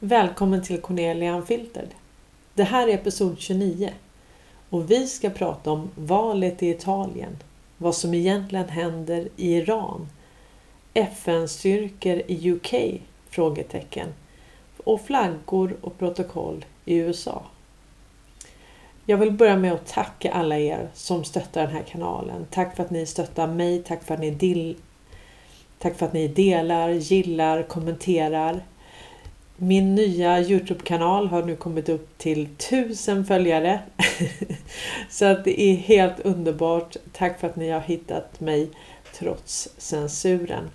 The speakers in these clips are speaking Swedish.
Välkommen till Cornelia Unfiltered. Det här är episod 29 och vi ska prata om valet i Italien, vad som egentligen händer i Iran, FN-styrkor i UK, frågetecken, och flaggor och protokoll i USA. Jag vill börja med att tacka alla er som stöttar den här kanalen. Tack för att ni stöttar mig, tack för att ni delar, gillar, kommenterar. Min nya YouTube-kanal har nu kommit upp till 1000 följare. Så att det är helt underbart. Tack för att ni har hittat mig trots censuren.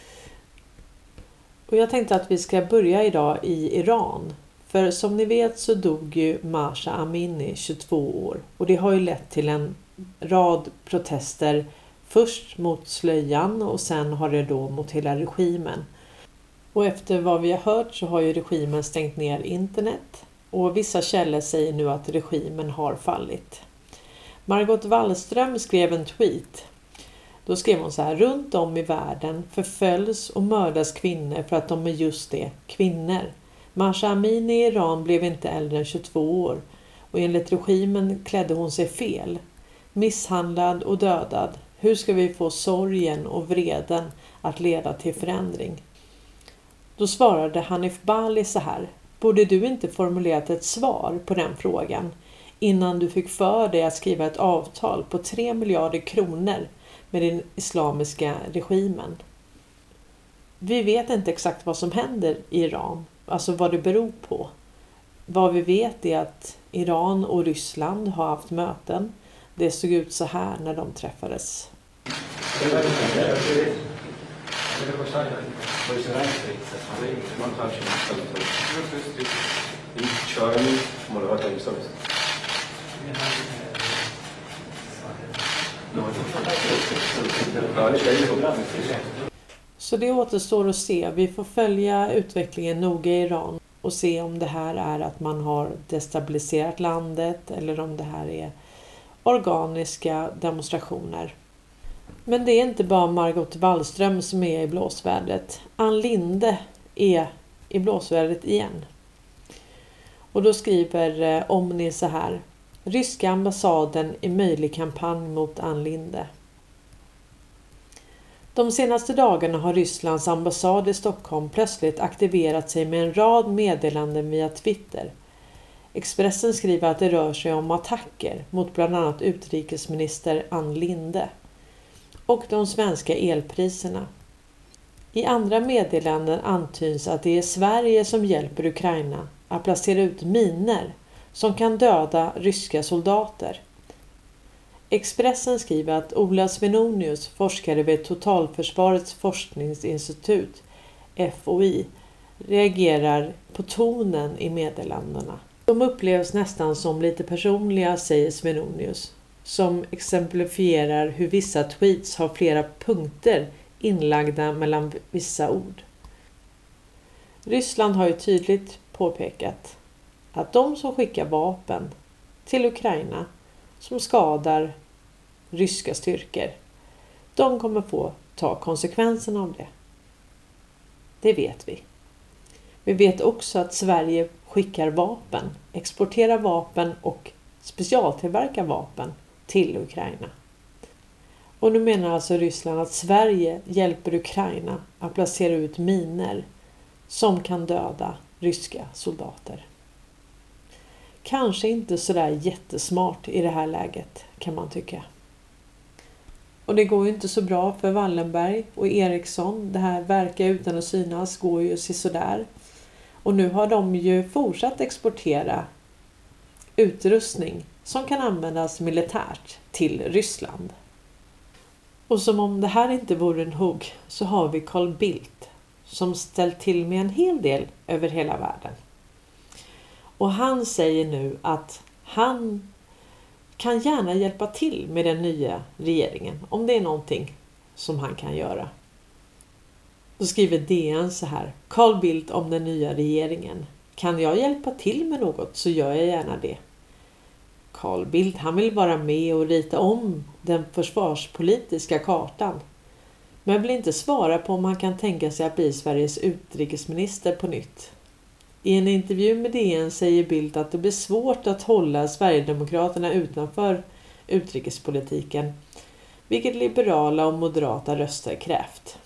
Och jag tänkte att vi ska börja idag i Iran. För som ni vet så dog ju Mahsa Amini 22 år. Och det har ju lett till en rad protester. Först mot slöjan och sen har det då mot hela regimen. Och efter vad vi har hört så har ju regimen stängt ner internet. Och vissa källor säger nu att regimen har fallit. Margot Wallström skrev en tweet. Då skrev hon så här: runt om i världen förföljs och mördas kvinnor för att de är just det, kvinnor. Mahsa Amini i Iran blev inte äldre än 22 år. Och enligt regimen klädde hon sig fel. Misshandlad och dödad. Hur ska vi få sorgen och vreden att leda till förändring? Då svarade Hanif Bali så här: borde du inte formulerat ett svar på den frågan innan du fick för dig att skriva ett avtal på 3 miljarder kronor med den islamiska regimen? Vi vet inte exakt vad som händer i Iran, alltså vad det beror på. Vad vi vet är att Iran och Ryssland har haft möten. Det såg ut så här när de träffades. Så det återstår att se. Vi får följa utvecklingen noga i Iran och se om det här är att man har destabiliserat landet eller om det här är organiska demonstrationer. Men det är inte bara Margot Wallström som är i blåsvädret. Ann Linde är i blåsvädret igen. Och då skriver Omni så här: ryska ambassaden i möjlig kampanj mot Ann Linde. De senaste dagarna har Rysslands ambassad i Stockholm plötsligt aktiverat sig med en rad meddelanden via Twitter. Expressen skriver att det rör sig om attacker mot bland annat utrikesminister Ann Linde och de svenska elpriserna. I andra meddelanden antyds att det är Sverige som hjälper Ukraina att placera ut miner som kan döda ryska soldater. Expressen skriver att Ola Svenonius, forskare vid Totalförsvarets forskningsinstitut, FOI, reagerar på tonen i meddelandena. De upplevs nästan som lite personliga, säger Svenonius, som exemplifierar hur vissa tweets har flera punkter inlagda mellan vissa ord. Ryssland har ju tydligt påpekat att de som skickar vapen till Ukraina som skadar ryska styrkor, de kommer få ta konsekvenserna av det. Det vet vi. Vi vet också att Sverige skickar vapen, exporterar vapen och specialtillverkar vapen till Ukraina. Och nu menar alltså Ryssland att Sverige hjälper Ukraina att placera ut miner som kan döda ryska soldater. Kanske inte sådär jättesmart i det här läget, kan man tycka. Och det går ju inte så bra för Wallenberg och Ericsson. Det här verkar utan att synas går ju sådär. Och nu har de ju fortsatt exportera utrustning som kan användas militärt till Ryssland. Och som om det här inte vore en hugg så har vi Carl Bildt som ställt till med en hel del över hela världen. Och han säger nu att han kan gärna hjälpa till med den nya regeringen om det är någonting som han kan göra. Då skriver DN så här: Carl Bildt om den nya regeringen. Kan jag hjälpa till med något så gör jag gärna det. Carl Bildt, han vill vara med och rita om den försvarspolitiska kartan. Men vill inte svara på om han kan tänka sig att bli Sveriges utrikesminister på nytt. I en intervju med DN säger Bildt att det blir svårt att hålla Sverigedemokraterna utanför utrikespolitiken, vilket liberala och moderata röster krävt.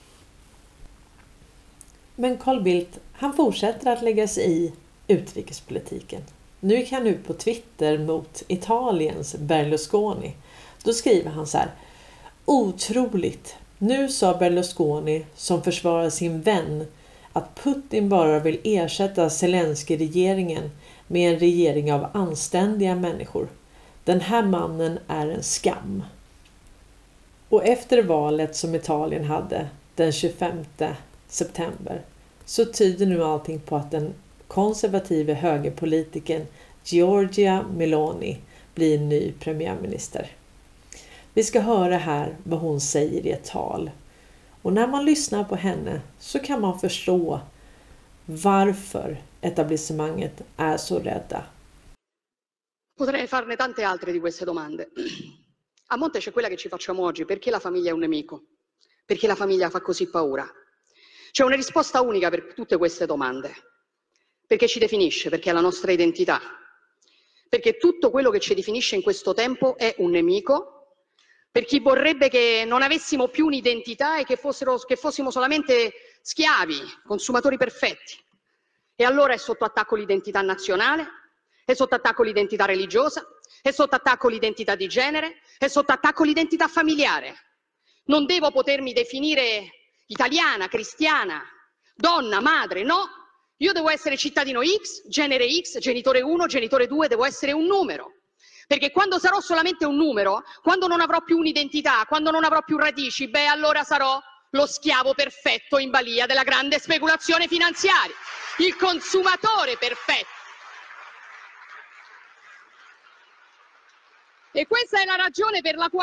Men Carl Bildt, han fortsätter att lägga sig i utrikespolitiken. Nu gick han ut på Twitter mot Italiens Berlusconi. Då skriver han så här: otroligt! Nu sa Berlusconi, som försvarar sin vän, att Putin bara vill ersätta Zelensky-regeringen med en regering av anständiga människor. Den här mannen är en skam. Och efter valet som Italien hade den 25 september så tyder nu allting på att den konservative högerpolitiken Giorgia Meloni blir ny premiärminister. Vi ska höra här vad hon säger i ett tal. Och när man lyssnar på henne så kan man förstå varför etablissemanget är så rädda. Potrei farne tante altre di queste domande. A monte c'è quella che ci facciamo oggi: perché la famiglia è un nemico? Perché la famiglia fa così paura? C'è una risposta unica per tutte queste domande. Perché ci definisce, perché è la nostra identità. Perché tutto quello che ci definisce in questo tempo è un nemico. Per chi vorrebbe che non avessimo più un'identità e che fossimo solamente schiavi, consumatori perfetti. E allora è sotto attacco l'identità nazionale, è sotto attacco l'identità religiosa, è sotto attacco l'identità di genere, è sotto attacco l'identità familiare. Non devo potermi definire italiana, cristiana, donna, madre, no. Io devo essere cittadino X, genere X, genitore 1, genitore 2, devo essere un numero. Perché quando sarò solamente un numero, quando non avrò più un'identità, quando non avrò più radici, allora sarò lo schiavo perfetto in balia della grande speculazione finanziaria, il consumatore perfetto. E questa è la ragione per la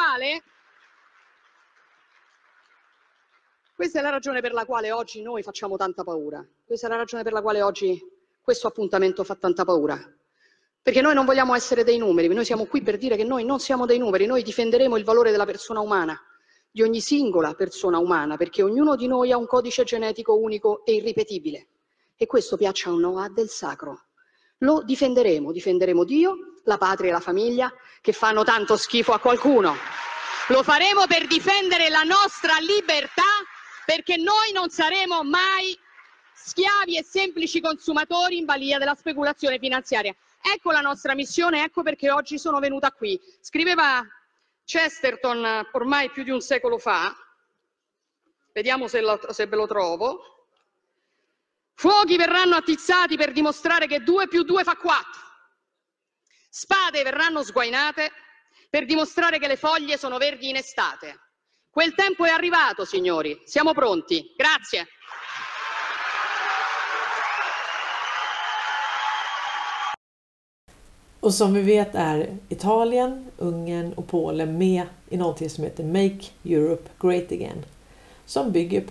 quale oggi noi facciamo tanta paura. Questa è la ragione per la quale oggi questo appuntamento fa tanta paura. Perché noi non vogliamo essere dei numeri, noi siamo qui per dire che noi non siamo dei numeri, noi difenderemo il valore della persona umana, di ogni singola persona umana, perché ognuno di noi ha un codice genetico unico e irripetibile. E questo, piaccia o no, ha del sacro. Lo difenderemo Dio, la patria e la famiglia, che fanno tanto schifo a qualcuno. Lo faremo per difendere la nostra libertà, perché noi non saremo mai schiavi e semplici consumatori in balia della speculazione finanziaria. Ecco la nostra missione, ecco perché oggi sono venuta qui. Scriveva Chesterton ormai più di un secolo fa, vediamo se ve lo trovo: fuochi verranno attizzati per dimostrare che 2 più 2 fa 4. Spade verranno sguainate per dimostrare che le foglie sono verdi in estate. Quel tempo è arrivato, signori, siamo pronti. Grazie. Och som vi vet är Italien, Ungern och Polen med i någonting som heter Make Europe Great Again. Som bygger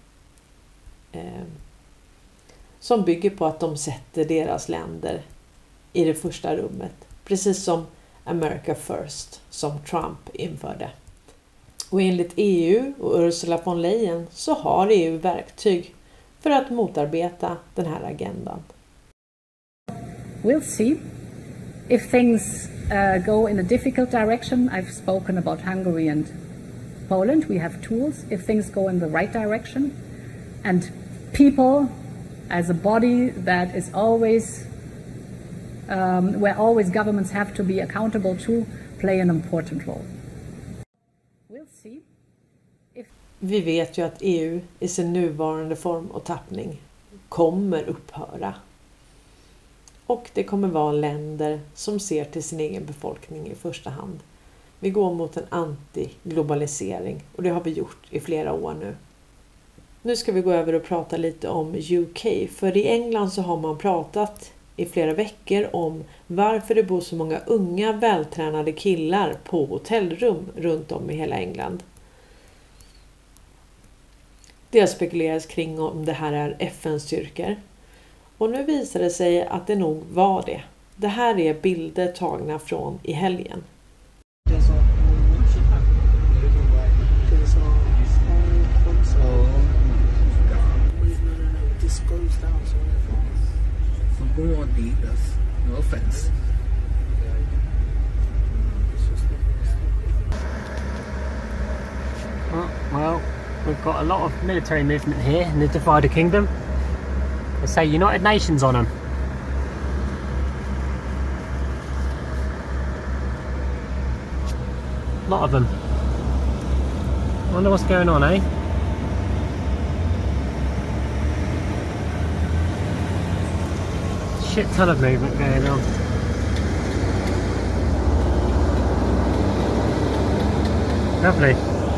på att de sätter deras länder i det första rummet. Precis som America First som Trump införde. Och enligt EU och Ursula von Leyen så har EU verktyg för att motarbeta den här agendan. We'll see. If things go in a difficult direction, I've spoken about Hungary and Poland, we have tools. If things go in the right direction, and people as a body that is always, where always governments have to be accountable to, play an important role. We'll see. Vi vet ju att EU i sin nuvarande form och tappning kommer upphöra. Och det kommer vara länder som ser till sin egen befolkning i första hand. Vi går mot en anti-globalisering och det har vi gjort i flera år nu. Nu ska vi gå över och prata lite om UK. För i England så har man pratat i flera veckor om varför det bor så många unga vältränade killar på hotellrum runt om i hela England. Det har spekulerats kring om det här är FN-styrkor. Och nu visar det sig att det nog var det. Det här är bilder tagna från i helgen. får go on leaders. No offense. Well, we've got a lot of military movement here in the divided kingdom. They say United Nations on them. A lot of them. Wonder what's going on, eh? Shit ton of movement going on. Lovely.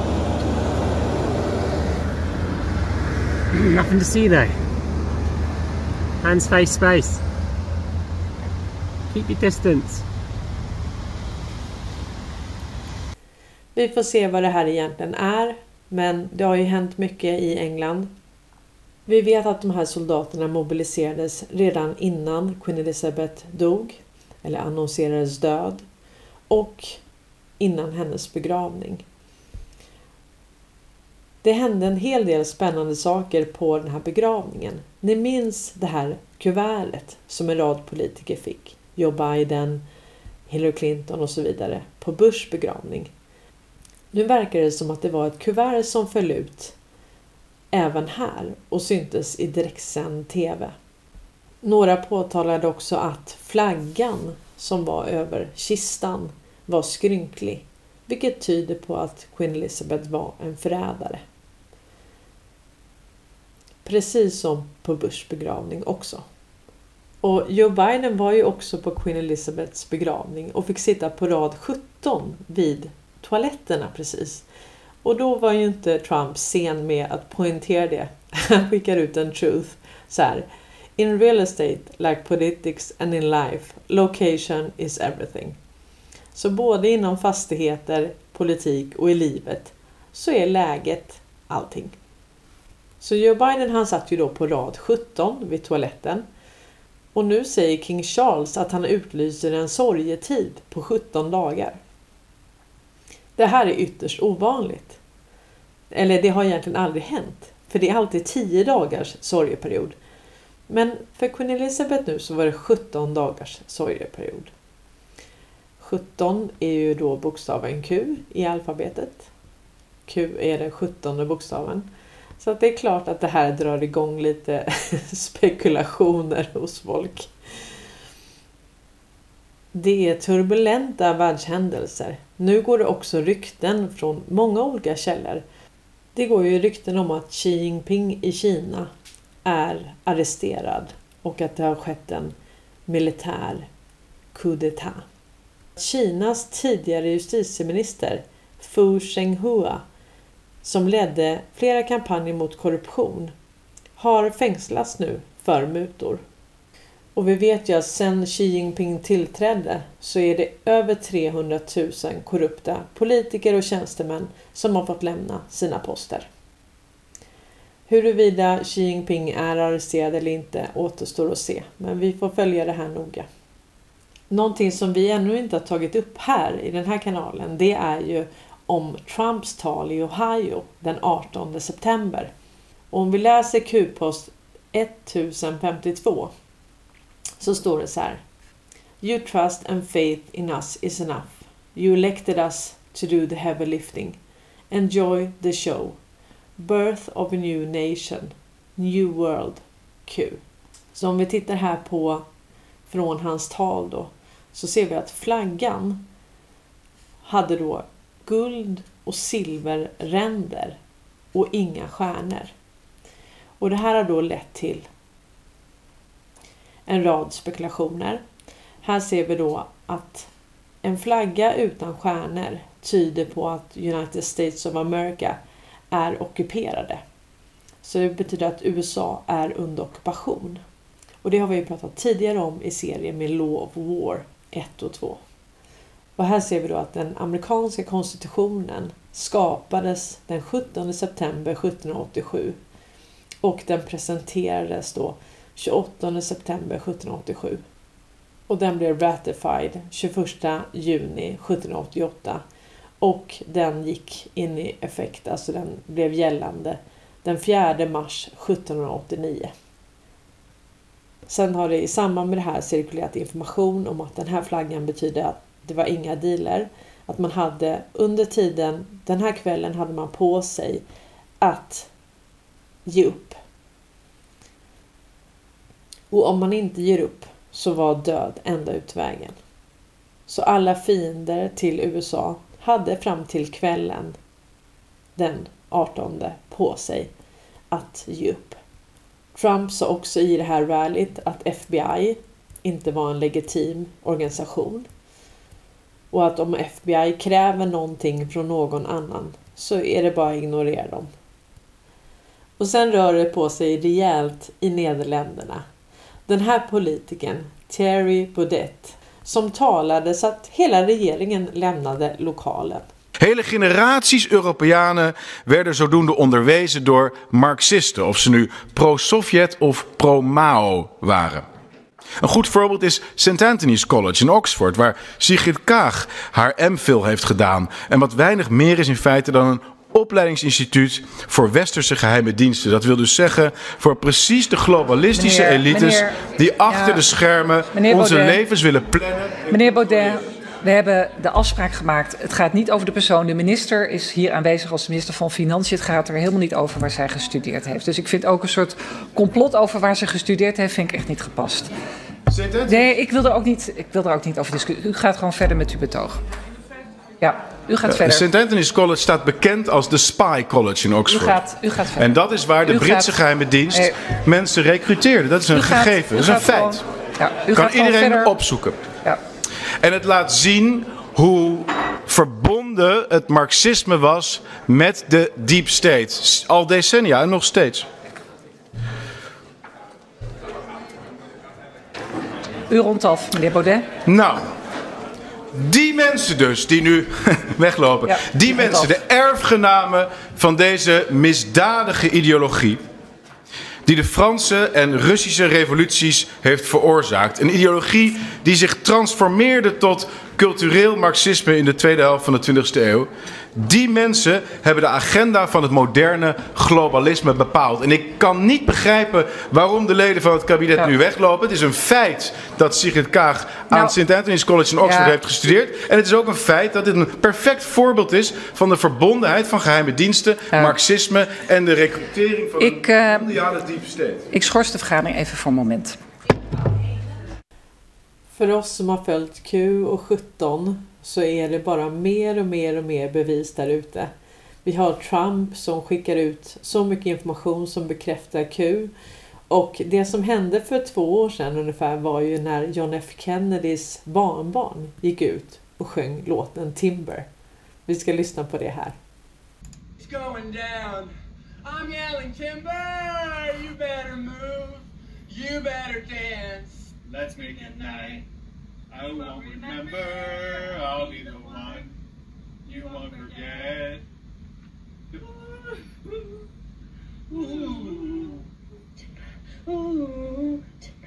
Nothing to see though. Hands, face, space. Keep your distance. Vi får se vad det här egentligen är, men det har ju hänt mycket i England. Vi vet att de här soldaterna mobiliserades redan innan Queen Elizabeth dog, eller annonserades död, och innan hennes begravning. Det hände en hel del spännande saker på den här begravningen. Ni minns det här kuvertet som en rad politiker fick. Joe Biden, Hillary Clinton och så vidare på Bushs begravning. Nu verkar det som att det var ett kuvert som föll ut även här och syntes i direktsänd tv. Några påtalade också att flaggan som var över kistan var skrynklig, vilket tyder på att Queen Elizabeth var en förrädare. Precis som på Bushs begravning också. Och Joe Biden var ju också på Queen Elizabeths begravning och fick sitta på rad 17 vid toaletterna precis. Och då var ju inte Trump sen med att poängtera det. Han skickar ut en truth så här: In real estate, like politics and in life, location is everything. Så både inom fastigheter, politik och i livet så är läget allting. Så Joe Biden, han satt ju då på rad 17 vid toaletten. Och nu säger King Charles att han utlyser en sorgetid på 17 dagar. Det här är ytterst ovanligt. Eller det har egentligen aldrig hänt. För det är alltid 10 dagars sorgeperiod. Men för Queen Elizabeth nu så var det 17 dagars sorgeperiod. 17 är ju då bokstaven Q i alfabetet. Q är den 17:e bokstaven. Så att det är klart att det här drar igång lite spekulationer hos folk. Det är turbulenta världshändelser. Nu går det också rykten från många olika källor. Det går ju rykten om att Xi Jinping i Kina är arresterad och att det har skett en militär coup d'état. Kinas tidigare justitieminister Fu Zhenghua, som ledde flera kampanjer mot korruption, har fängslats nu för mutor. Och vi vet ju att sedan Xi Jinping tillträdde så är det över 300 000 korrupta politiker och tjänstemän som har fått lämna sina poster. Huruvida Xi Jinping är arresterad eller inte återstår att se, men vi får följa det här noga. Någonting som vi ännu inte har tagit upp här i den här kanalen, det är ju om Trumps tal i Ohio den 18 september. Och om vi läser Q-post 1052 så står det så här: You trust and faith in us is enough. You elected us to do the heavy lifting. Enjoy the show. Birth of a new nation. New world. Q. Så om vi tittar här på från hans tal då, så ser vi att flaggan hade då guld och silverränder och inga stjärnor. Och det här har då lett till en rad spekulationer. Här ser vi då att en flagga utan stjärnor tyder på att United States of America är ockuperade. Så det betyder att USA är under ockupation. Och det har vi ju pratat tidigare om i serien med Law of War 1 och 2. Och här ser vi då att den amerikanska konstitutionen skapades den 17 september 1787 och den presenterades då 28 september 1787. Och den blev ratified 21 juni 1788 och den gick in i effekt, alltså den blev gällande den 4 mars 1789. Sen har det i samband med det här cirkulerat information om att den här flaggan betyder att det var inga dealer. Att man hade under tiden, den här kvällen hade man på sig att ge upp. Och om man inte ger upp så var död enda utvägen. Så alla fiender till USA hade fram till kvällen den 18 på sig att ge upp. Trump sa också i det här rallyt att FBI inte var en legitim organisation. Och att om FBI kräver någonting från någon annan så är det bara att ignorera dem. Och sen rör det på sig rejält i Nederländerna. Den här politikern, Thierry Baudet, som talade så att hela regeringen lämnade lokalen. Hele generaties Europeanen werden zodoende onderwezen door Marxisten, of ze nu pro-Sovjet of pro-Mao waren. Een goed voorbeeld is St. Anthony's College in Oxford, waar Sigrid Kaag haar MPhil heeft gedaan. En wat weinig meer is in feite dan een opleidingsinstituut voor westerse geheime diensten. Dat wil dus zeggen voor precies de globalistische elites die achter de schermen onze levens willen plannen. Meneer Baudet, we hebben de afspraak gemaakt. Het gaat niet over de persoon. De minister is hier aanwezig als minister van Financiën. Het gaat er helemaal niet over waar zij gestudeerd heeft. Dus ik vind ook een soort complot over waar ze gestudeerd heeft, vind ik echt niet gepast. Nee, ik wil er ook niet over discussiëren. U gaat gewoon verder met uw betoog. Ja, u gaat verder. St. Anthony's College staat bekend als de Spy College in Oxford. U gaat verder. En dat is waar de Britse geheime dienst mensen recruteerde. Dat is een gegeven, dat is een feit. Kan iedereen opzoeken. Ja. En het laat zien hoe verbonden het marxisme was met de deep state. Al decennia en nog steeds. U rondt af, meneer Baudet. Nou, die mensen dus die nu weglopen. Ja, die mensen, de erfgenamen van deze misdadige ideologie. Die de Franse en Russische revoluties heeft veroorzaakt. Een ideologie die zich transformeerde tot cultureel marxisme in de tweede helft van de 20e eeuw. Die mensen hebben de agenda van het moderne globalisme bepaald. En ik kan niet begrijpen waarom de leden van het kabinet nu weglopen. Het is een feit dat Sigrid Kaag aan St. Anthony's College in Oxford heeft gestudeerd. En het is ook een feit dat dit een perfect voorbeeld is van de verbondenheid van geheime diensten, marxisme en de recrutering van een mondiale deep state. Ik schors de vergadering even voor een moment. För oss som har följt Q och 17 så är det bara mer och mer och mer bevis där ute. Vi har Trump som skickar ut så mycket information som bekräftar Q. Och det som hände för 2 år sedan ungefär var ju när John F. Kennedys barnbarn gick ut och sjöng låten Timber. Vi ska lyssna på det här. It's going down. I'm yelling timber. You better move. You better dance. Let's make it night. I won't remember. I'll be the one you won't forget. Ooh. Ooh.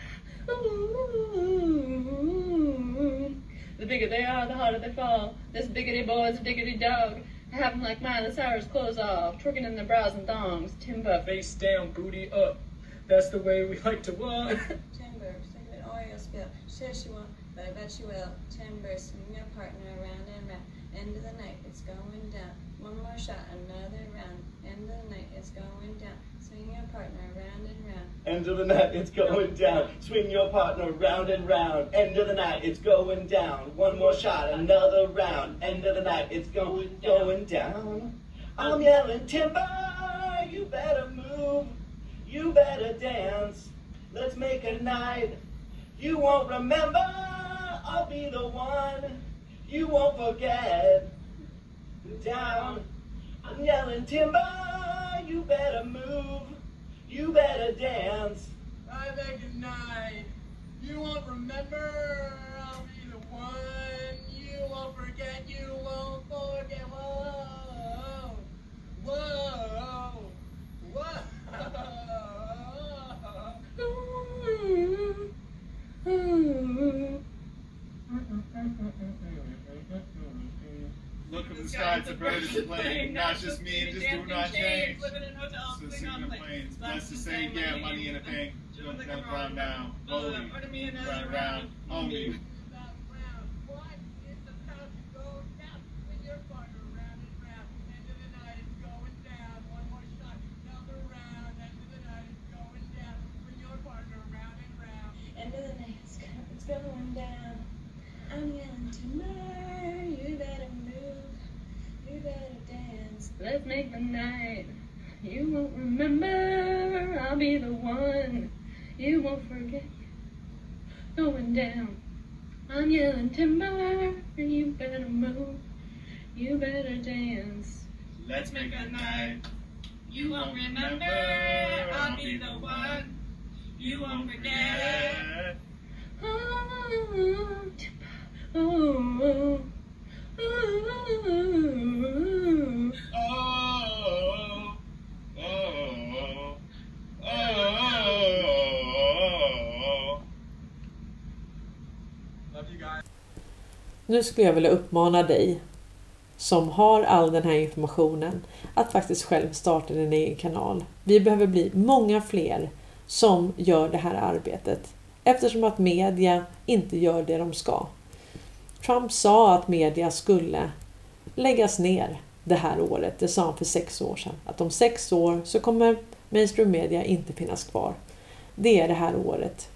Ooh. The bigger they are, the harder they fall. This biggity boy's a diggity dog. Have them like mine, the sour's clothes off, tricking in their brows and thongs. Timber, face down, booty up. That's the way we like to walk. Timber, sing an Oreo spill. Sure she won't, but I bet she will. Timber, swing your partner round and round. End of the night, it's going down. One more shot, another round. End of the night, it's going down. Swing your partner round and round. End of the night, it's going down. Swing your partner round and round. End of the night, it's going down. One more shot, another round. End of the night, it's going down. I'm yelling timber, you better move. You better dance. Let's make a night. You won't remember. I'll be the one. You won't forget. Down. I'm yelling timber. You better move. You better dance. I make a night. You won't remember. I'll be the one. You won't forget. You won't forget. Whoa. Whoa. Whoa. Look at the sky, it's a bird, it's a plane. Not just me, just do not change. Living in hotels, So sing the planes. That's to say, yeah, money in a bank. Don't run down. Hold me. Run around. Hold me. End of the night, it's going down. I'm yelling timber, you better move, you better dance. Let's make the night. You won't remember, I'll be the one. You won't forget. Going down. I'm yelling timber, you better move, you better dance. Let's make a night. You won't remember, I'll be the one. You won't forget. Oh, oh, Nu skulle jag vilja uppmana dig som har all den här informationen att faktiskt själv starta din egen kanal. Vi behöver bli många fler som gör det här arbetet eftersom att media inte gör det de ska. Trump sa att media skulle läggas ner det här året. Det sa han för 6 år sedan. Att om 6 år så kommer mainstream media inte finnas kvar. Det är det här året.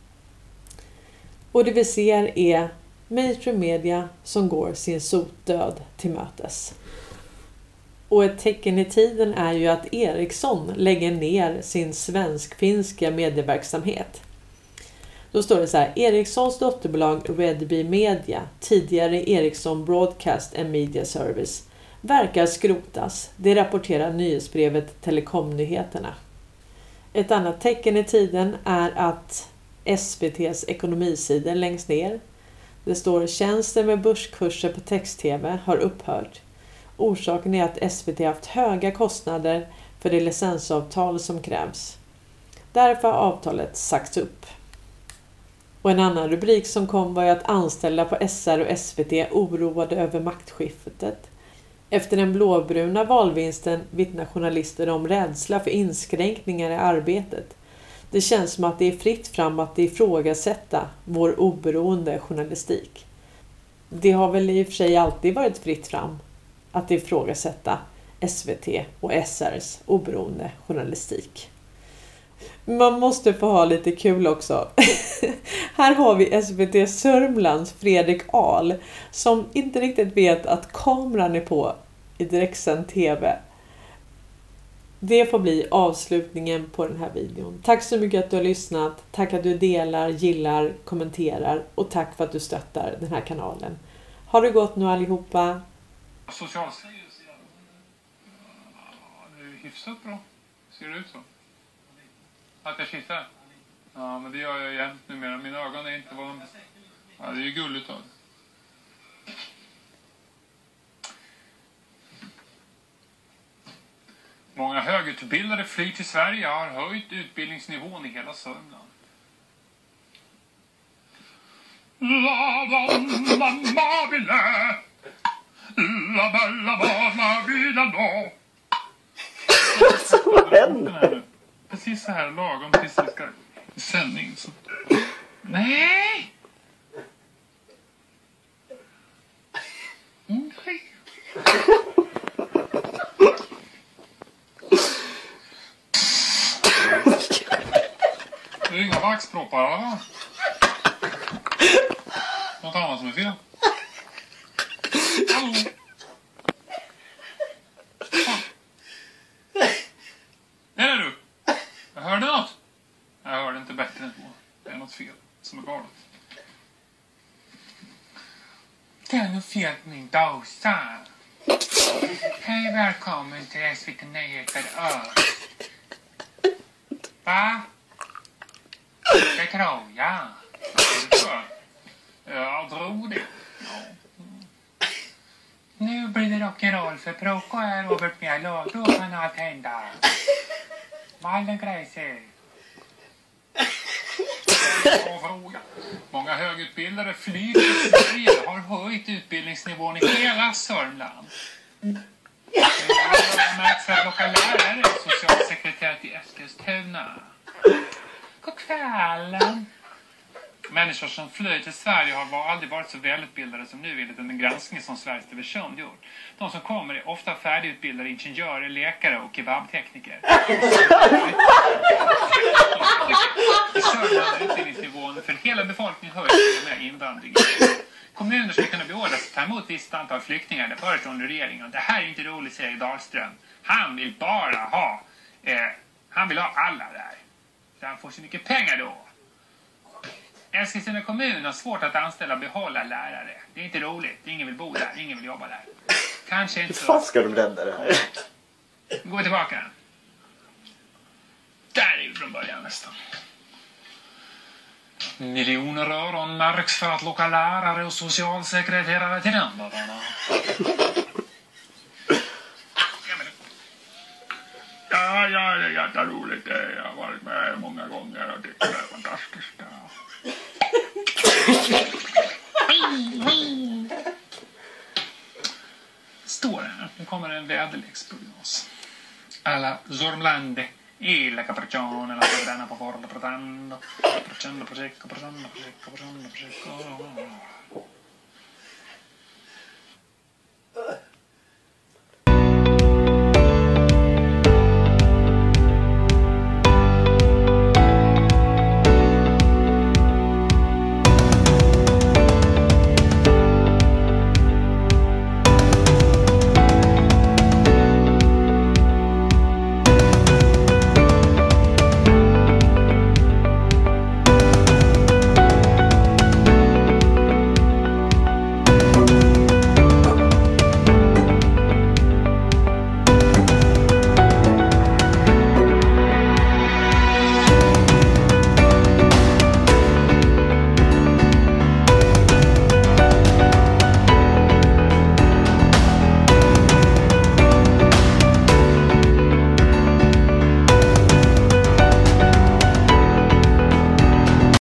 Och det vi ser är mainstream media som går sin sotdöd till mötes. Och ett tecken i tiden är ju att Ericsson lägger ner sin svensk-finska medieverksamhet. Då står det så här: Ericssons dotterbolag Redby Media, tidigare Ericsson Broadcast and Media Service, verkar skrotas. Det rapporterar nyhetsbrevet Telekomnyheterna. Ett annat tecken i tiden är att SVT:s ekonomisidor längst ner. Det står tjänster med börskurser på text-tv har upphört. Orsaken är att SVT haft höga kostnader för det licensavtal som krävs. Därför har avtalet sagts upp. Och en annan rubrik som kom var ju att anställda på SR och SVT oroade över maktskiftet. Efter den blåbruna valvinsten vittnar journalister om rädsla för inskränkningar i arbetet. Det känns som att det är fritt fram att ifrågasätta vår oberoende journalistik. Det har väl i och för sig alltid varit fritt fram att ifrågasätta SVT och SRs oberoende journalistik. Man måste få ha lite kul också. Här har vi SVT Sörmlands Fredrik Ahl som inte riktigt vet att kameran är på i direktsänd tv. Det får bli avslutningen på den här videon. Tack så mycket att du har lyssnat. Tack att du delar, gillar, kommenterar och tack för att du stöttar den här kanalen. Ha det gott nu allihopa. Socialstyrelsen. Det är hyfsat bra. Ser det ut så? Att jag kissar? Ja, men det gör jag jämt numera. Mina ögon är inte vad de... Ja, det är ju gulligt av. Många högutbildade flyr till Sverige har höjt utbildningsnivån i hela Sörmland. Vad händer? Precis så här lagom tills det ska i sändning. Så. Nej! Nej. Det är inga vaxproppar, va? Något annat som är fel. Hallå? Är det du? Jag hörde något. Jag hörde inte bättre än så. Det är något fel som är galet. Det är något fel på min dosa. Hej, välkommen till SVT Nyheter Ö. Va? Det tror jag. Jag tror det. Ja. Nu blir det rock'n'roll för Proko är Robert Mjäll och då kan allt hända. Wallengrejser. Många hög högutbildade flyger i Sverige har höjt utbildningsnivån i hela Sörmland. Det har märkts att locka lärare och socialsekreterare till Eskilstuna. God kvällen. Människor som flyr till Sverige har aldrig varit så välutbildade som nu enligt en granskning som Sveriges Television gjort. De som kommer är ofta färdigutbildade ingenjörer, läkare och kebabtekniker. I Sörmland är utbildningsnivån för hela befolkningen höjd med invandringen. Kommuner ska kunna beordras att ta emot visst antal flyktingar, det föreslår regeringen. Det här är inte roligt, säger Dahlström. Han vill bara ha, han vill ha alla där. Så han får så mycket pengar då. Eskilstuna kommun har svårt att anställa och behålla lärare. Det är inte roligt, ingen vill bo där, ingen vill jobba där. Kanske inte. Hur fan ska de rädda det här? Gå tillbaka. Där är vi från början nästan. Miljoner öron märks för att locka lärare och socialsekreterare till Rändarna. Ja, det är jätteroligt. Jag har varit med många gånger och det är fantastiskt. Står det här. Nu kommer en väderleksprognos. Alla Zormlande. La capriccione, la sovrana po' forte, pretendo, procendo, prosecco,